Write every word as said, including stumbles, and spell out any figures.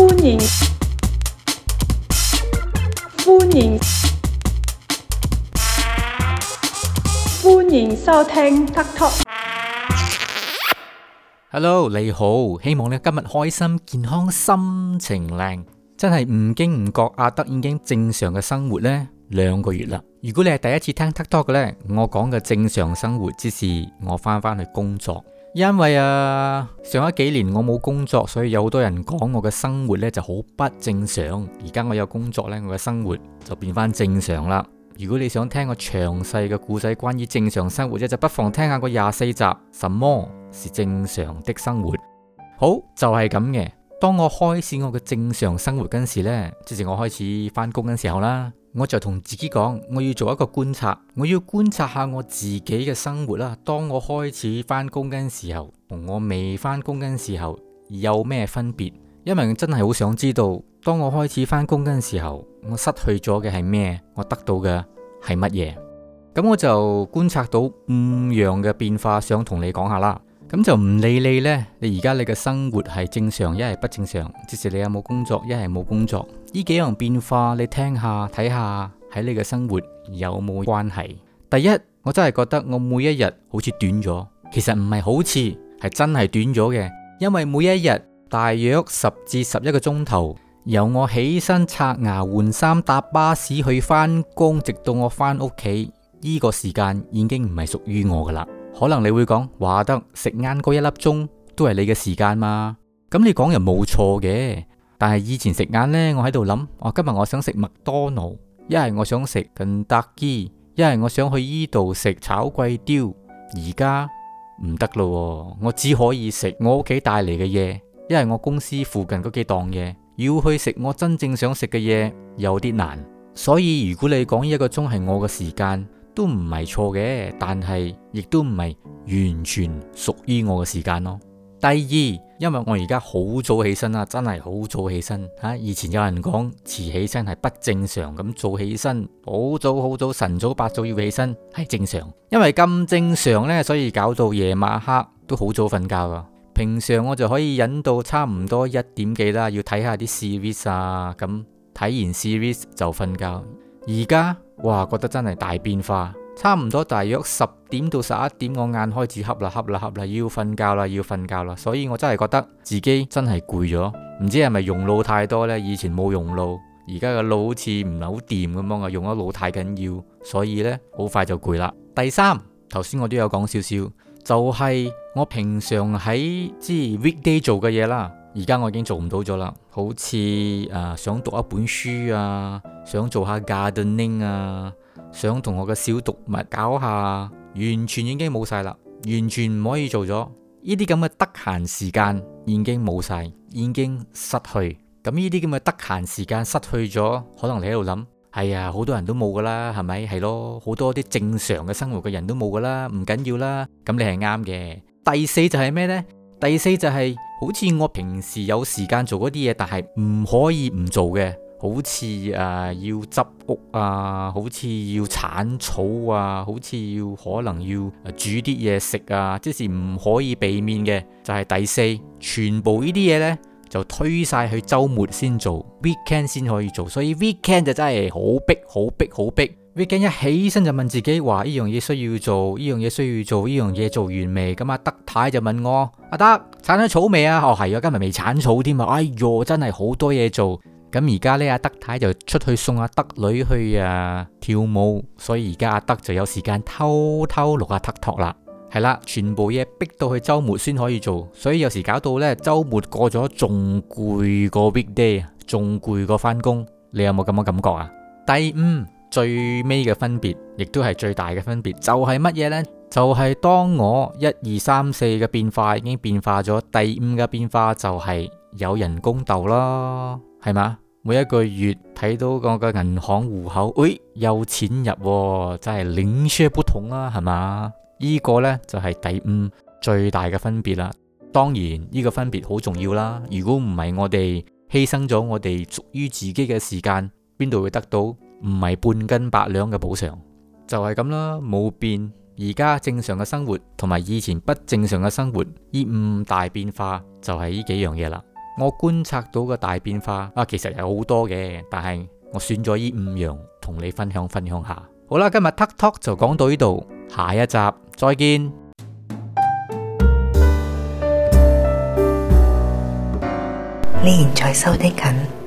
歡迎歡迎歡迎收聽 Tuck Talk。 Hello， 你好，希望你今日開心、健康、心情靚。真係唔經唔覺，阿德已經正常嘅生活呢兩個月啦。如果你係第一次聽 Tuck Talk 嘅呢，我講嘅正常生活之是我翻返去工作。因為啊，上一幾年我冇工作，所以有好多人講我嘅生活呢就好不正常。而家我有工作呢，我嘅生活就變翻正常啦。如果你想聽個詳細嘅故仔關於正常生活啫，就不妨聽下個廿四集，什麼是正常的生活。好，就係咁嘅。當我開始我嘅正常生活嗰時呢，即係我開始翻工嗰時候啦，我就同自己講，我要做一個觀察，我要觀察下我自己嘅生活啦。當我開始翻工嗰時候，同我未翻工嗰時候有咩分別？因為我真係好想知道，當我開始翻工嗰時候，我失去咗嘅係咩？我得到嘅係乜嘢？咁我就觀察到五樣嘅變化，想同你講下啦。咁就唔理你呢，你而家你嘅生活係正常，一係不正常，即使你有冇工作，一係冇工作，呢幾樣變化你聽下睇下，喺你嘅生活有冇關係？第一，我真係覺得我每一日好似短咗，其實唔係好似，係真係短咗嘅，因為每一日大約十至十一個鐘頭，由我起身刷牙換衫搭巴士去翻工，直到我翻屋企，呢個時間已經唔係屬於我噶啦。可能你會講，話得食晏嗰一粒鐘都係你嘅時間嘛？咁你講又冇錯嘅，但係以前食晏呢，我喺度諗，我今日我想食麥當勞，一係我想食肯德基，一係我想去依度食炒貴刁。而家唔得咯，我只可以食我屋企帶嚟嘅嘢，一係我公司附近嗰幾檔嘢，要去食我真正想食嘅嘢有啲難。所以如果你講呢一個鐘係我嘅時間，都唔係錯嘅，但係亦都唔係完全屬於我嘅時間咯。第二，因為我而家好早起身啦，真係好早起身吓。以前有人講遲起身係不正常，咁早起身好早好早晨早八早要起身係正常。因為咁正常呢，所以搞到夜晚黑都好早瞓覺噶。平常我就可以忍到差唔多一點幾啦，要睇下啲 series 啊，咁睇完 series 就瞓覺。而家哇，覺得真係大變化，差唔多大約十點到十一點，我眼開始瞌啦瞌啦瞌啦，要瞓覺啦要瞓覺啦，所以我真係覺得自己真係攰咗，唔知係咪用腦太多呢？以前冇用腦，而家個腦好似唔係好掂咁樣啊，用咗腦太緊要，所以呢，好快就攰啦。第三，頭先我都有講少少，就係、是、我平常喺即係 weekday 做嘅嘢啦。而家我已經做唔到咗啦，好似誒、呃、想讀一本書啊，想做下 gardening 啊，想同我嘅小動物搞下，完全已經冇晒啦，完全唔可以做咗。呢啲咁嘅得閒時間已經冇晒，已經失去。咁呢啲咁嘅得閒時間失去咗，可能你喺度諗，係啊，好多人都冇噶啦，係咪？係咯，好多啲正常嘅生活嘅人都冇噶啦，唔緊要啦。咁你係啱嘅。第四就係咩呢？第四就係、是、好似我平時有時間做嗰啲嘢，但係唔可以唔做嘅，好似誒、呃、要執屋啊，好似要鏟草啊，好似要可能要煮啲嘢食啊，即是唔可以避免嘅，就係、是、第四，全部呢啲嘢呢，就推晒去周末先做 ，weekend 先可以做，所以 weekend 就真係好逼好逼好逼。weekend 一起身就問自己話呢樣嘢需要做，呢樣嘢需要做，呢樣嘢做完未？咁阿德太就問我：阿德鏟咗草未啊？哦係啊，今日未鏟草添啊！哎喲，真係好多嘢做。咁而家呢，阿德太就出去送阿德女去啊跳舞，所以而家阿德就有時間偷偷錄下 Tuck Talk 啦。係啦，全部嘢逼到去周末先可以做，所以有時搞到呢，周末過咗仲攰過 weekday， 仲攰過翻工。你有冇咁嘅感覺啊？第五。最尾嘅分別，亦都係最大嘅分別，就係乜嘢呢？就係、是、當我一二三四嘅變化已經變化咗，第五嘅變化就係有人工逗咯，係嘛？每一個月睇到我嘅銀行戶口，誒、哎，有錢入、喎，真係零舍不同啦，係嘛？呢、這個呢，就係、是、第五最大嘅分別啦。當然呢、這個分別好重要啦。如果唔係我哋犧牲咗我哋屬於自己嘅時間，邊度會得到？唔係半斤八兩嘅補償，就係咁啦，冇變。而家正常嘅生活同埋以前不正常嘅生活，呢五大變化就係呢幾樣嘢啦。 我觀察到嘅大變化啊，其實有好多嘅，但係我選咗呢五樣同你分享分享下。好啦，今日 Tuck Talk 就講到呢度，下一集再見。 你現在收聽緊